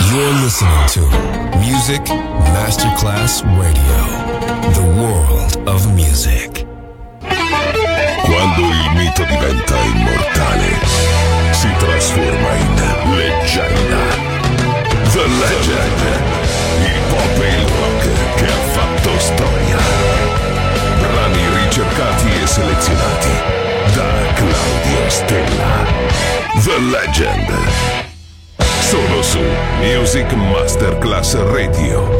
You're listening to Music Masterclass Radio, the world of music. Quando il mito diventa immortale, si trasforma in leggenda. The Legend, il pop e il rock che ha fatto storia. Brani ricercati e selezionati da Claudio Stella. The Legend. Solo su Music Masterclass Radio.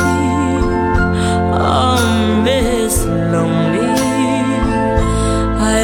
I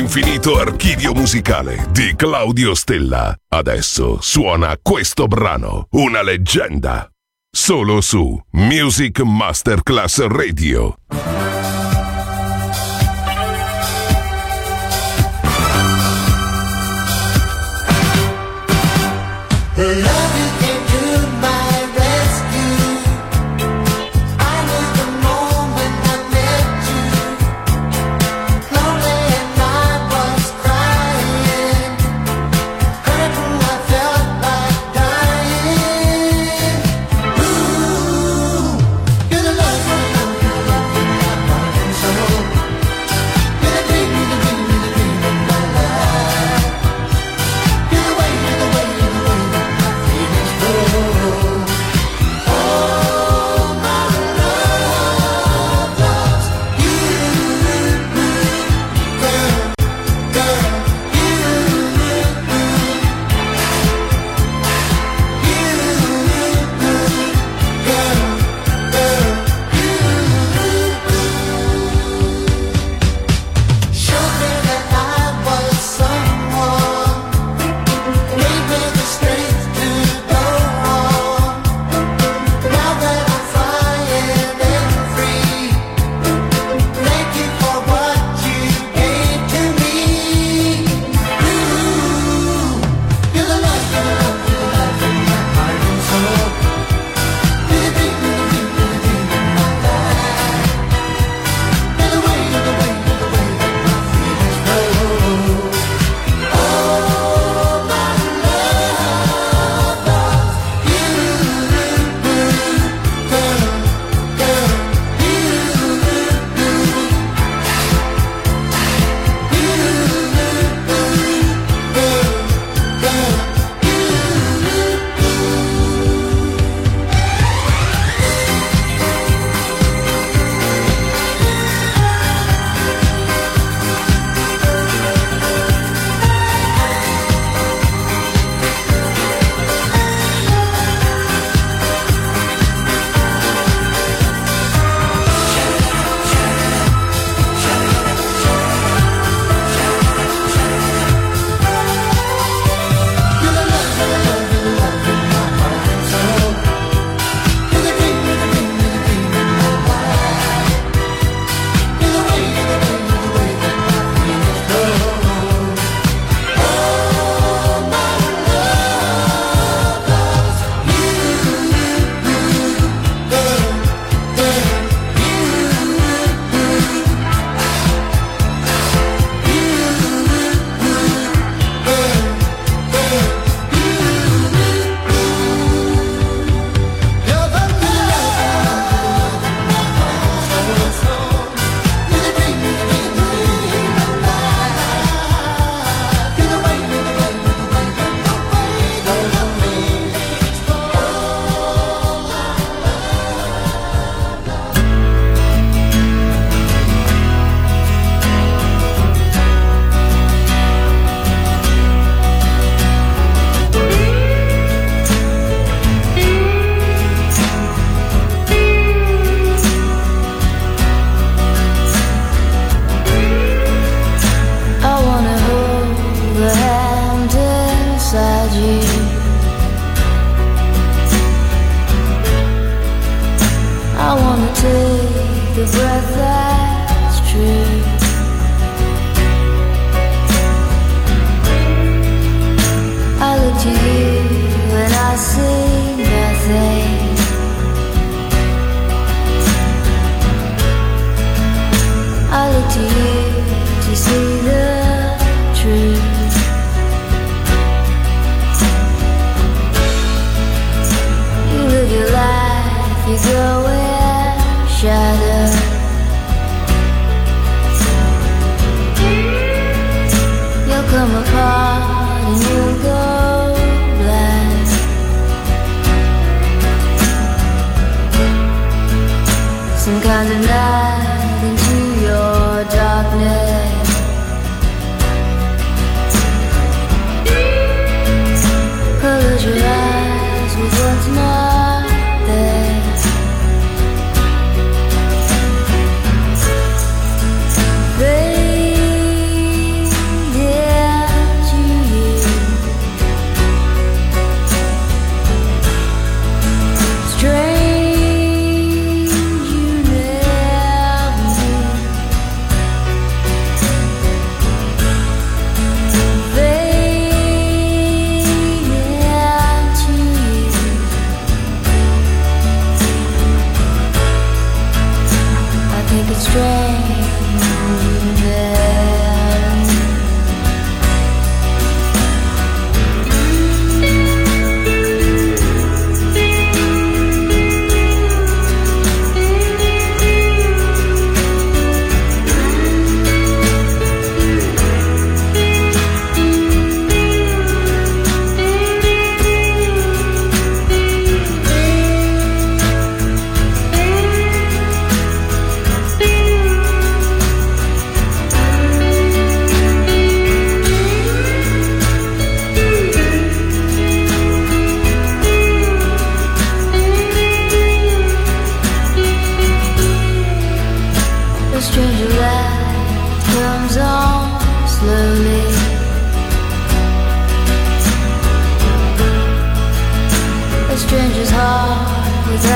L'infinito archivio musicale di Claudio Stella. Adesso suona questo brano, una leggenda. Solo su Music Masterclass Radio.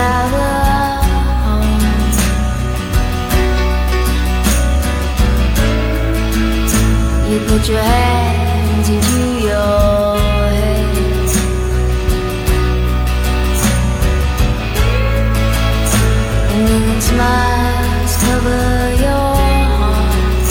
without a home. You put your hands into your head, and then smiles cover your heart.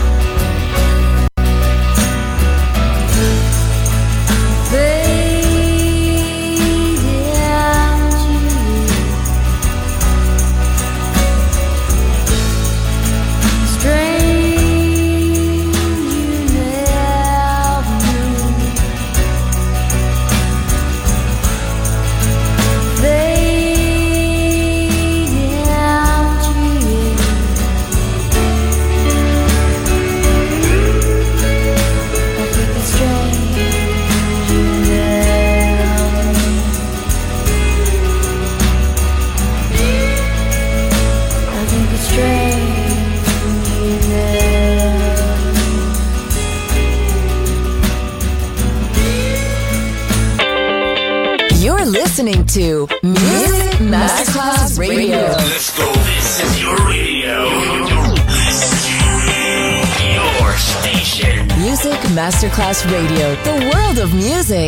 Listening to Music Masterclass Radio. Let's go. This is your radio. Your station. Music Masterclass Radio. The world of music.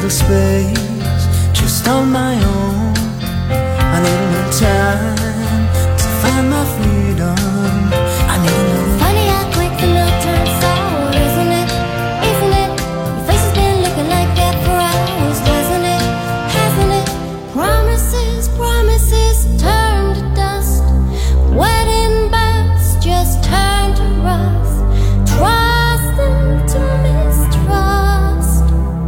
little space just on my own. I need a little time to find my freedom. I need a little. Funny how quick the milk turns sour, isn't it? Isn't it? Your face has been looking like that for hours, hasn't it? Hasn't it? Promises, promises turn to dust. Wedding bells just turn to rust. Trust into mistrust.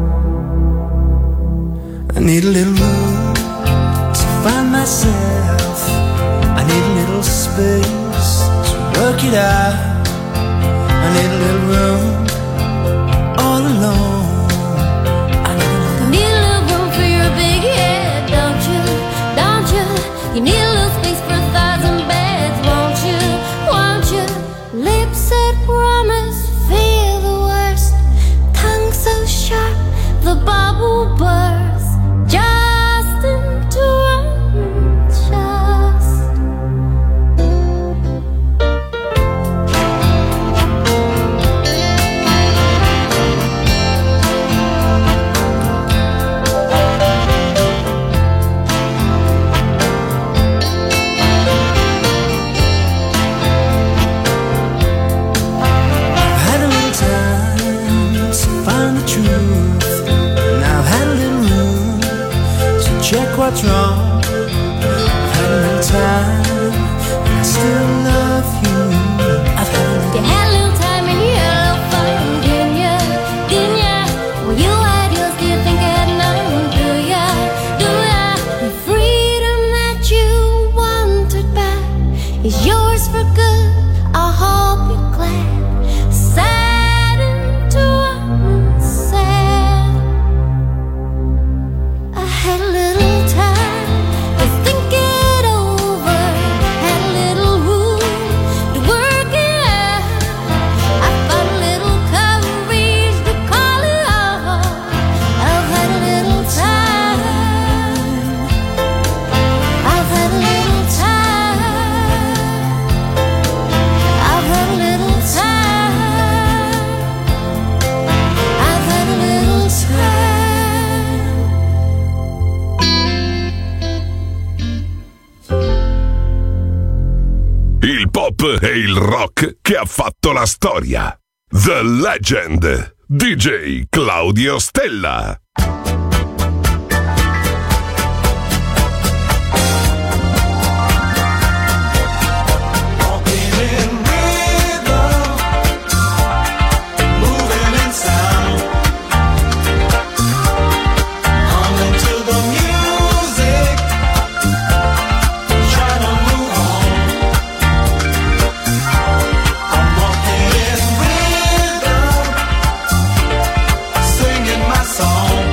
I need a little room to find myself. I need a little space to work it out. I need a little room all alone. I need a little room for your big head, don't you? Don't you? You need a little space for 1,000 beds, won't you? Won't you? Lips that promise feel the worst. Tongue so sharp the bubble bursts. Just into unjust. I've had a little time to find the truth, and I've had a little room to check what's wrong. I've had a little time, and I still love you. I've had a little. You had a little time and you had a little fun, didn't ya? Didn't ya? Well, you had yours, do you think I had none? Do ya? Do ya? The freedom that you wanted back is yours for good. I hope you're glad. Sad into unsaid. I had a little time to think it over. Had a little room to work it out. I found a little courage to call it off. I've had a little time. I've had a little time. I've had a little time. I've had a little time. Il pop e il rock che ha fatto la storia. The Legend. DJ Claudio Stella. Singing my song.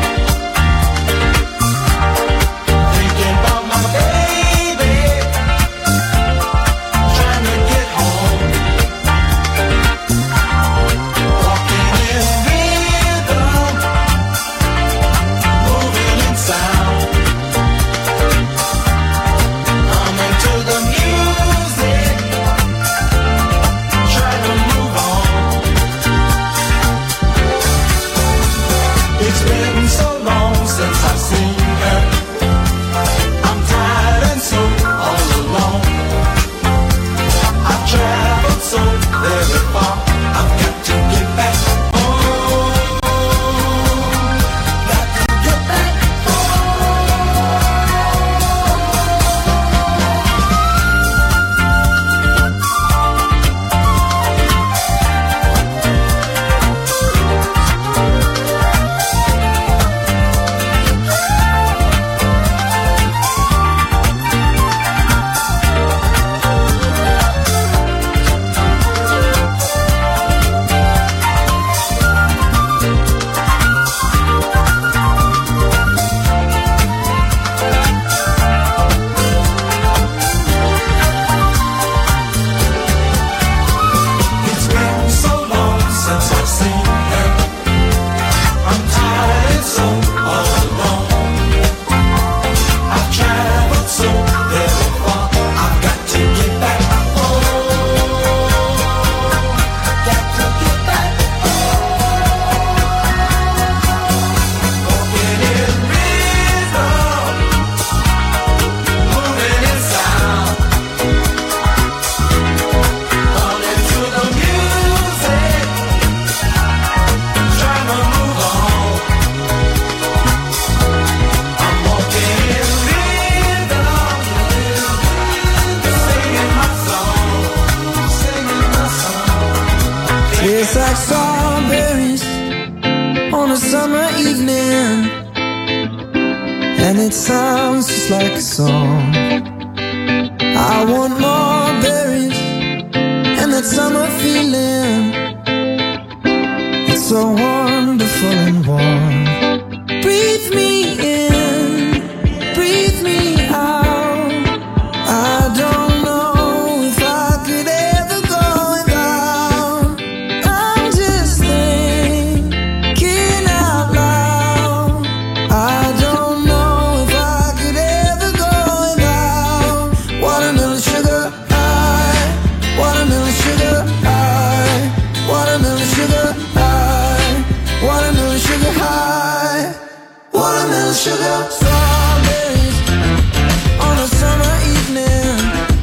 summer evening, and it sounds just like a song. I want more berries and that summer feeling. It's so wonderful and warm. Breathe me in, breathe me out. I don't know if I could ever go without. I'm just thinking out loud. I don't know if I could ever go without. Watermelon sugar high, watermelon sugar high, watermelon sugar high, watermelon sugar high, watermelon sugar. Strawberries on a summer evening.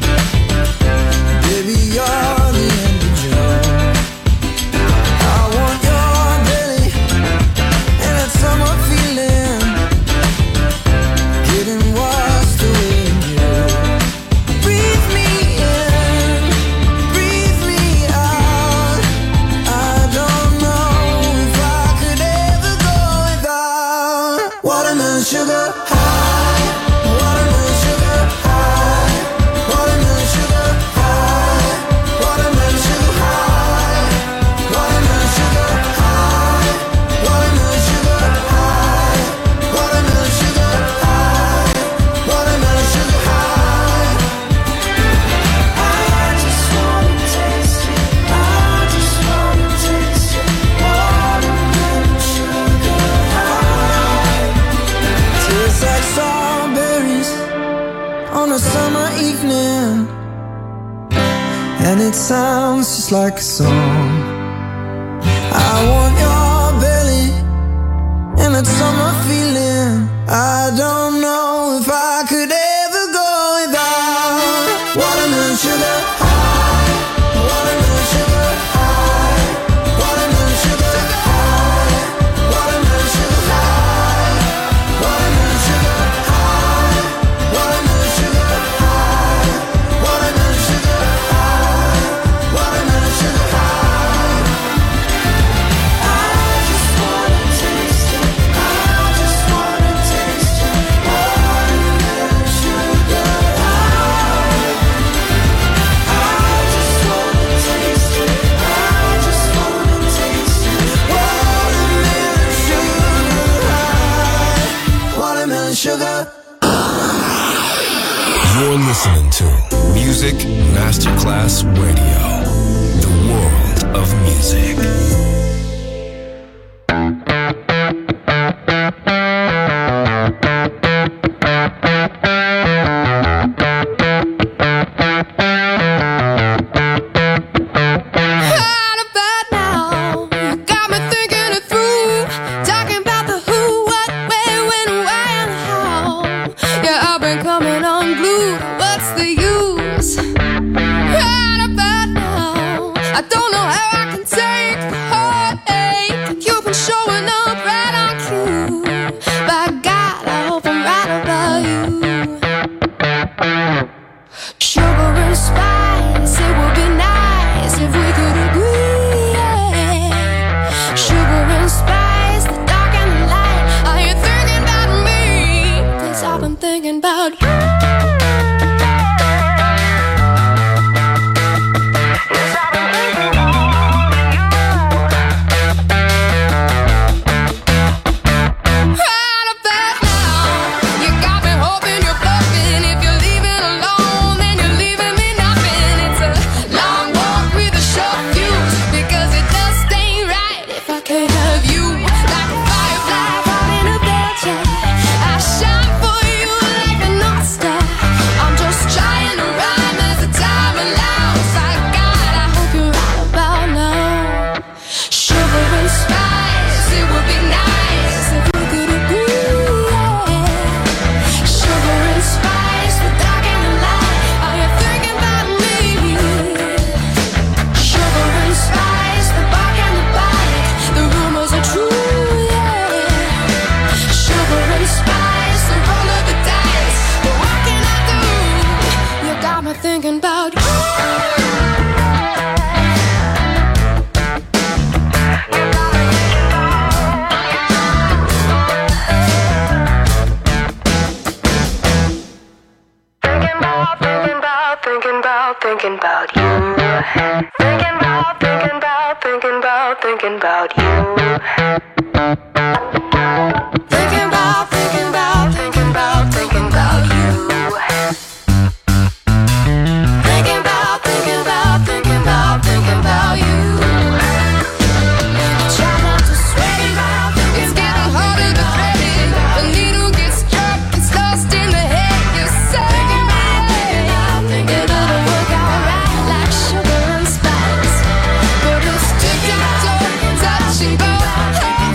Baby, you're the end of June. I want your belly and that summer feeling, getting washed away in you. Breathe me in, breathe me out. I don't know if I could ever go without. Watermelon sugar high, watermelon sugar high, watermelon sugar high, watermelon sugar high, watermelon sugar high, watermelon sugar high, watermelon sugar high, watermelon sugar high. I just wanna taste it, I just wanna taste it. Watermelon sugar high. Tastes like strawberries on a summer evening, and it sounds just like a song. I want your belly and that summer feeling. I don't know if I could ever go without. Watermelon sugar high, watermelon sugar high, watermelon sugar high, watermelon sugar high, watermelon sugar high, watermelon sugar high, watermelon sugar high, watermelon sugar high. I just wanna taste it, I just wanna taste it. Watermelon sugar high. I just wanna taste it, I just wanna taste it. Watermelon sugar high, watermelon sugar. You're listening to Music Masterclass Radio, the world of music. Right about now, you got me thinking it through. Talking about the who, what, where, when, why, and how. Yeah, I've been coming unglued. What's the use? Right about now, I don't know how I can take the heartache. You've been showing up right on cue. By God, I hope I'm right about you. Sugar and spice, it would be nice if we could agree. Yeah. Sugar and spice, the dark and the light. Are you thinking about me? 'Cause I've been thinking about you. Yes, I've been thinking about you. about, thinking about you. Thinking about, thinking about, thinking about, thinking about you. Thinking about, thinking about, thinking about, thinking about you. Thinking about, thinking about, thinking about, thinking about you. Try not to sweat it out. It's getting harder to thread it. The needle gets stuck, it's lost in the head. You say it'll work out right like sugar and spice, but it's tic-tac-toe, touch and go.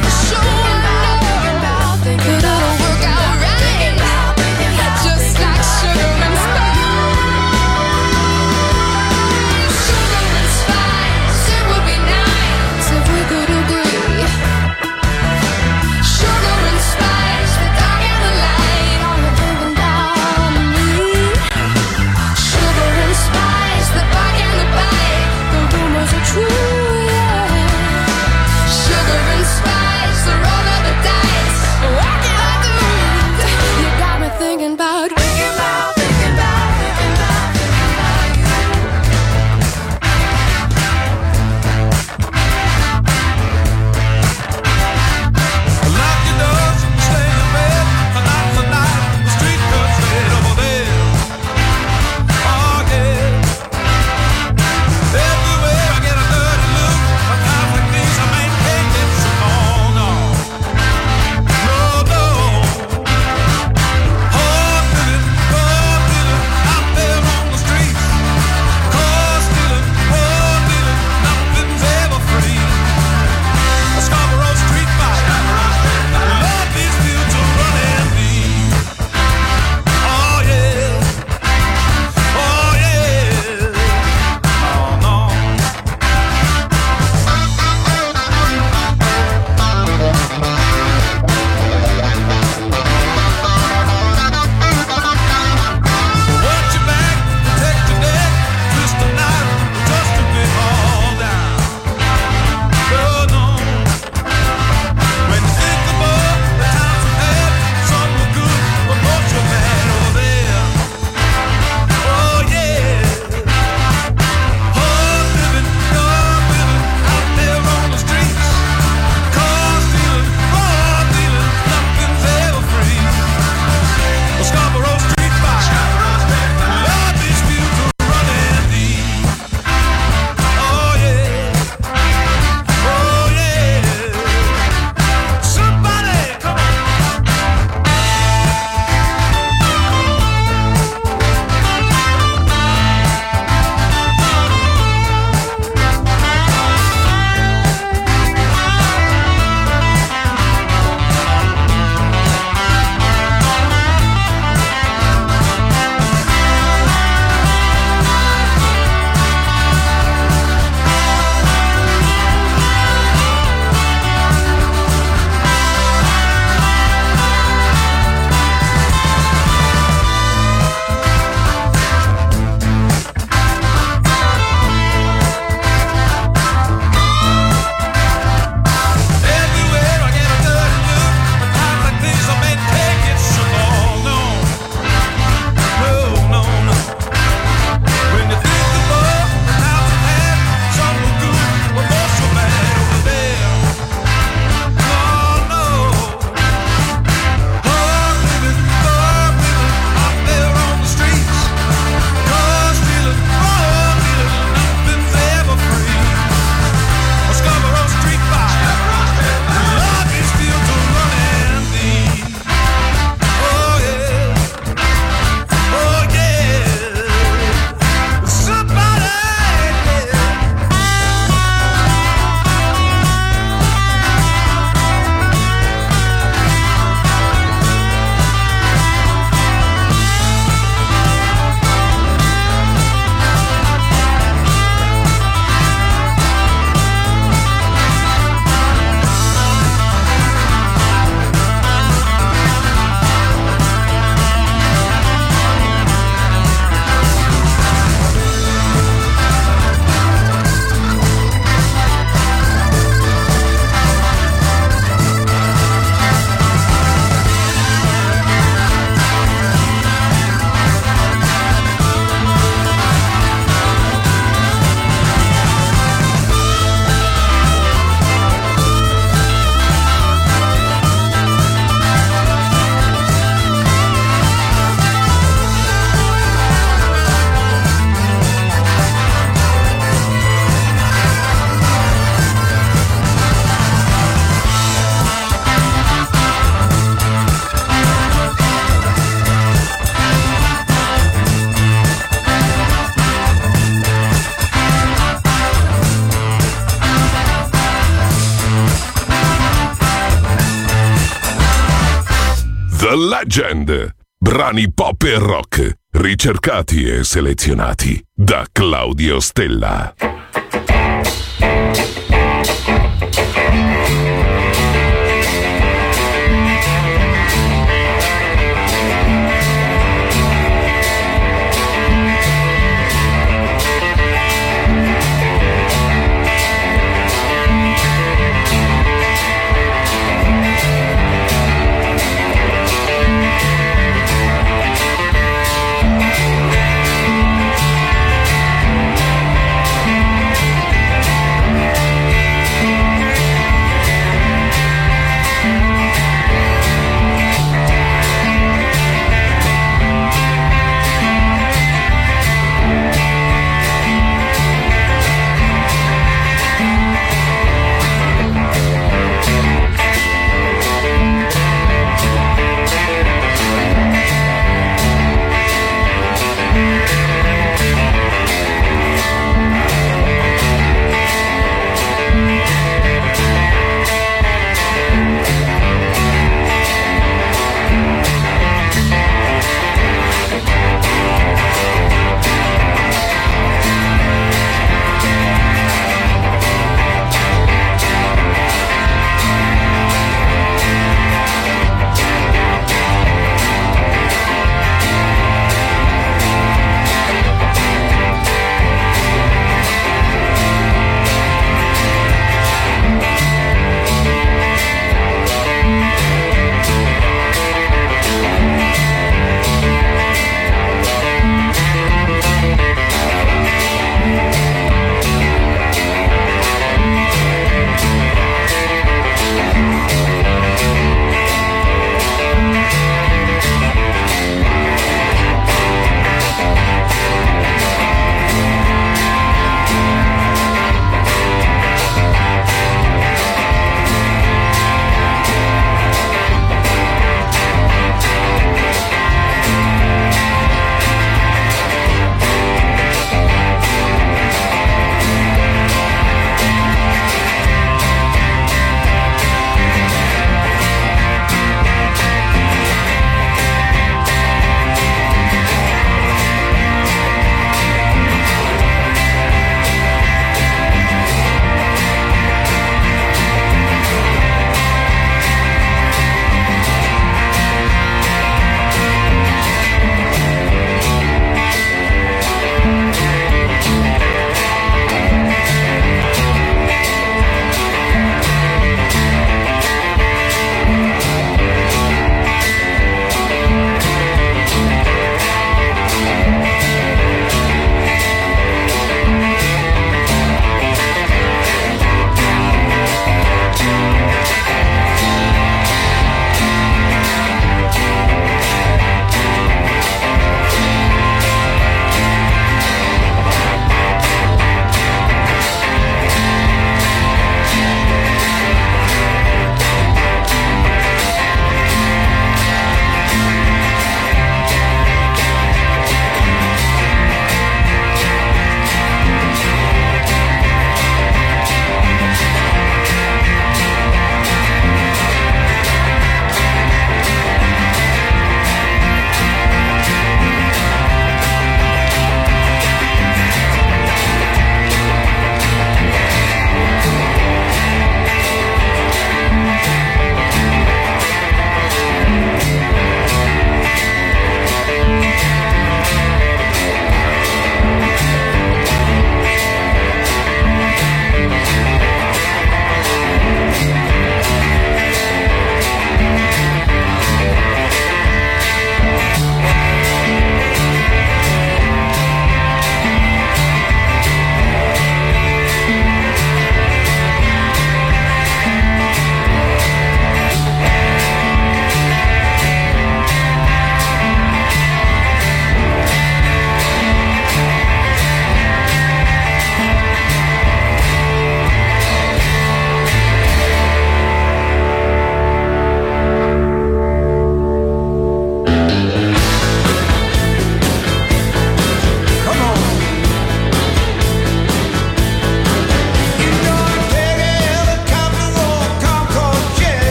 The Legend. Brani pop e rock, ricercati e selezionati da Claudio Stella.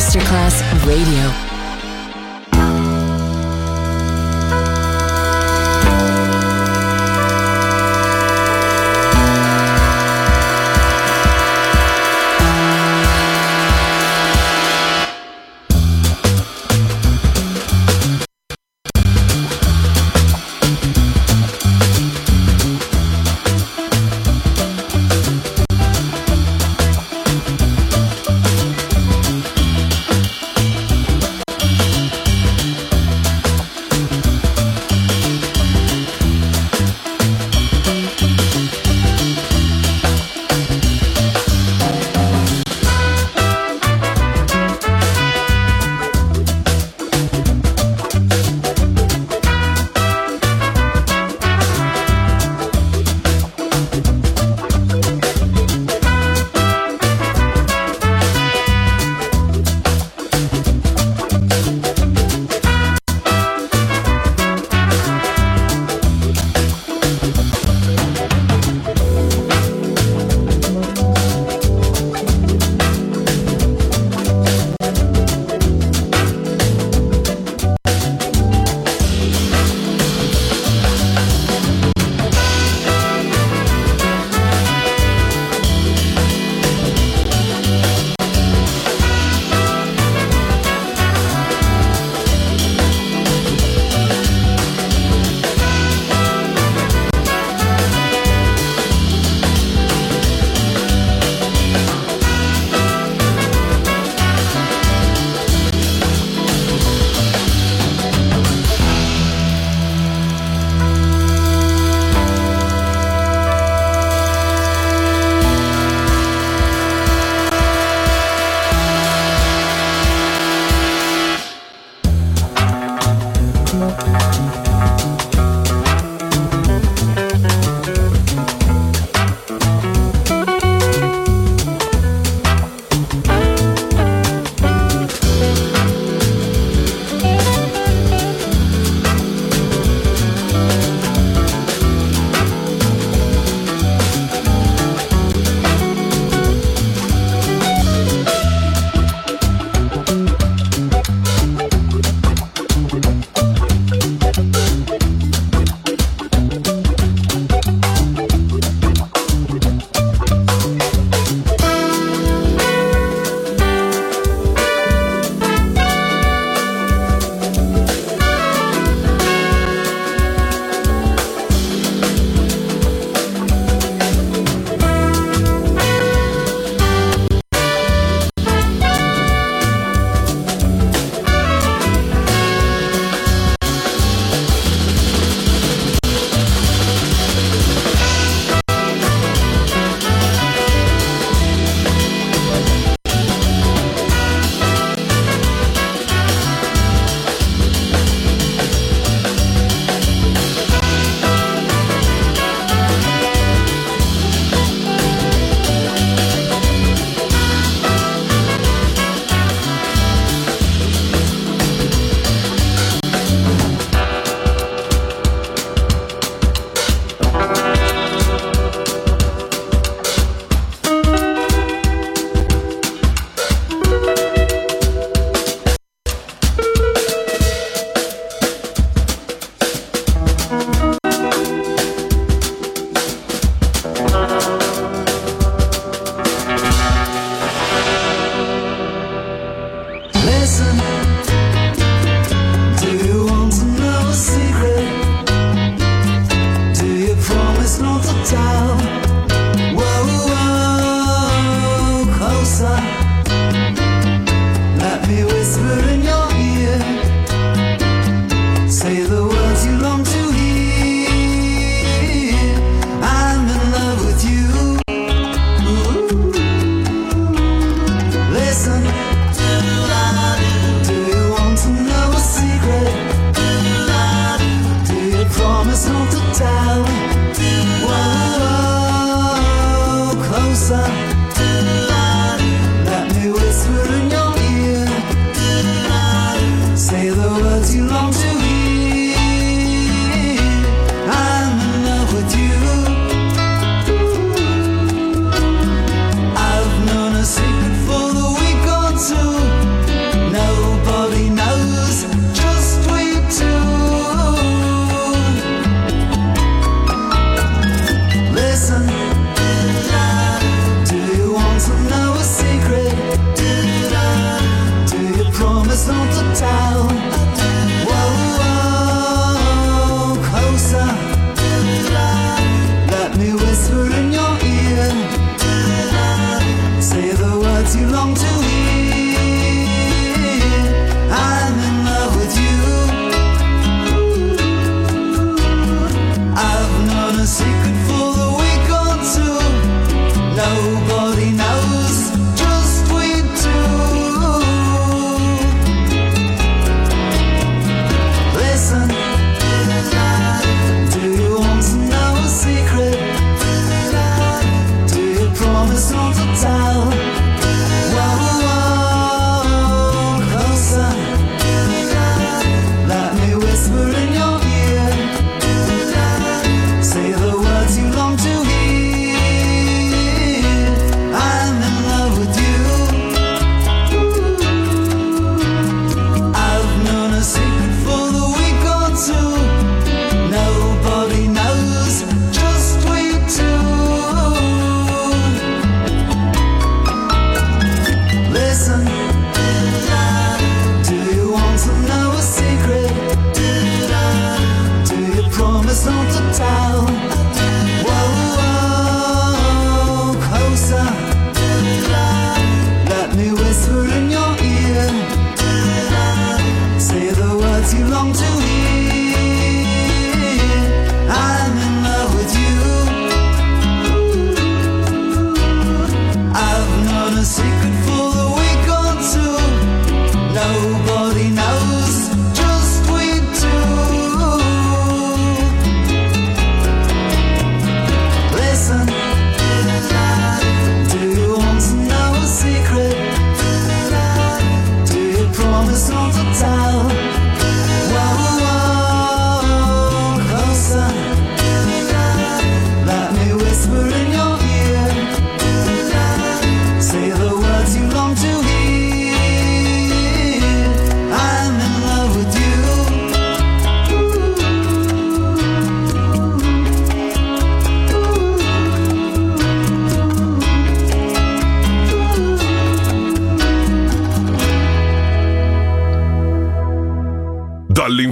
Masterclass Radio. Say the words you long to hear.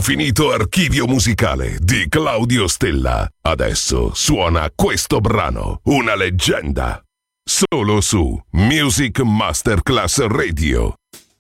L'infinito archivio musicale di Claudio Stella. Adesso suona questo brano, una leggenda. Solo su Music Masterclass Radio.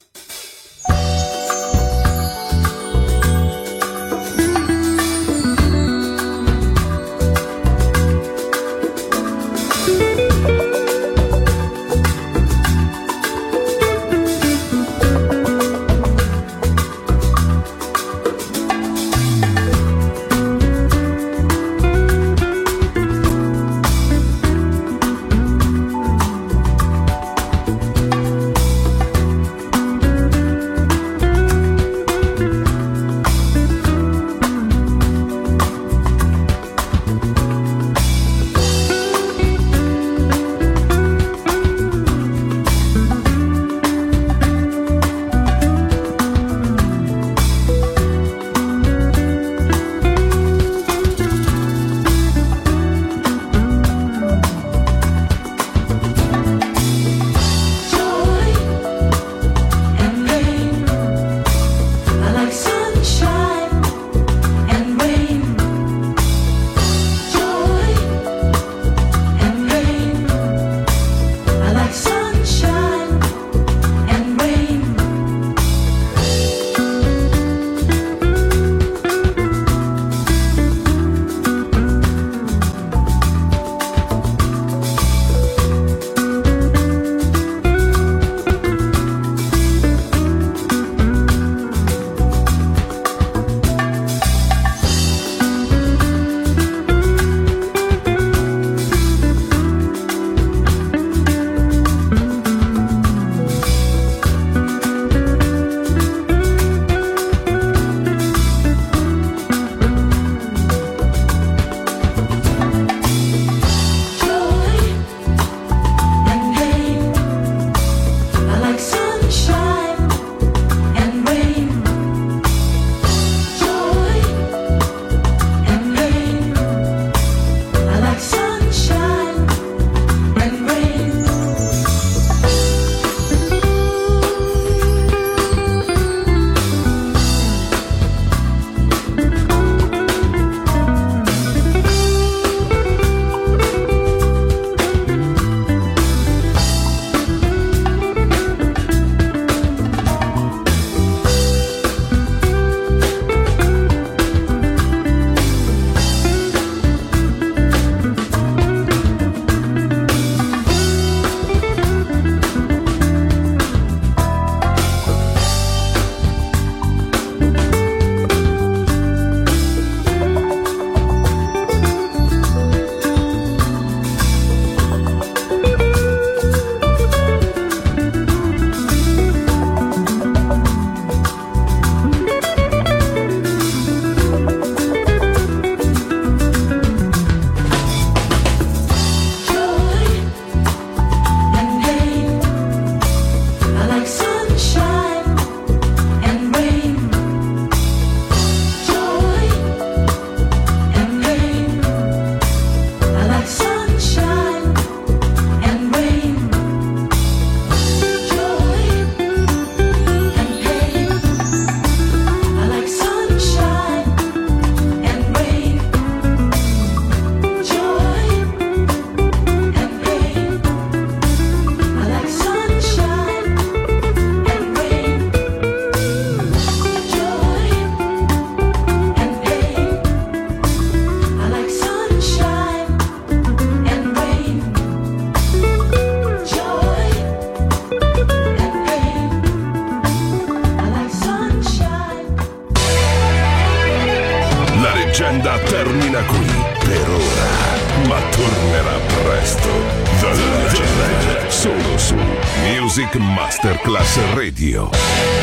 leggenda termina qui per ora, ma tornerà presto. The Legend, solo su Music Masterclass Radio.